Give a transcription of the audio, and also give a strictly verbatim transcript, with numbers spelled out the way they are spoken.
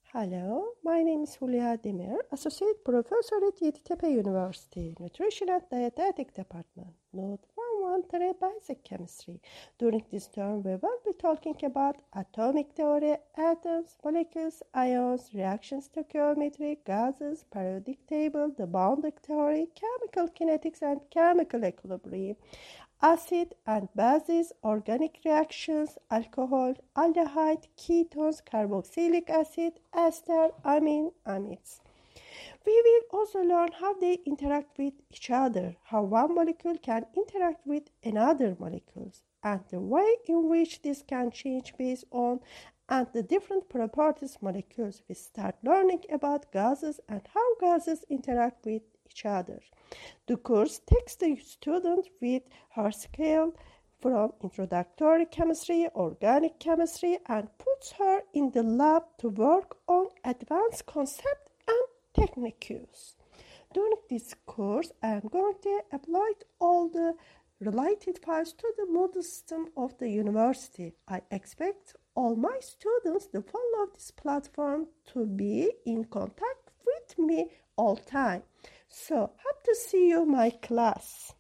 Hello, my name is Julia Demir, Associate Professor at Yeditepe University, Nutrition and Dietetic Department, Note one thirteen Basic Chemistry. During this term, we will be talking about atomic theory, atoms, molecules, ions, reaction stoichiometry, gases, periodic table, the boundary theory, chemical kinetics and chemical equilibrium, acid and bases, organic reactions, alcohol, aldehyde, ketones, carboxylic acid, ester, amine, amides. We will also learn how they interact with each other, how one molecule can interact with another molecules, and the way in which this can change based on and the different properties molecules. We start learning about gases and how gases interact with each other. The course takes the student with her scale from introductory chemistry, organic chemistry, and puts her in the lab to work on advanced concepts and techniques. During this course, I am going to apply all the related files to the Moodle system of the university. I expect all my students to follow this platform to be in contact with me all time. So, hope to see you, my class.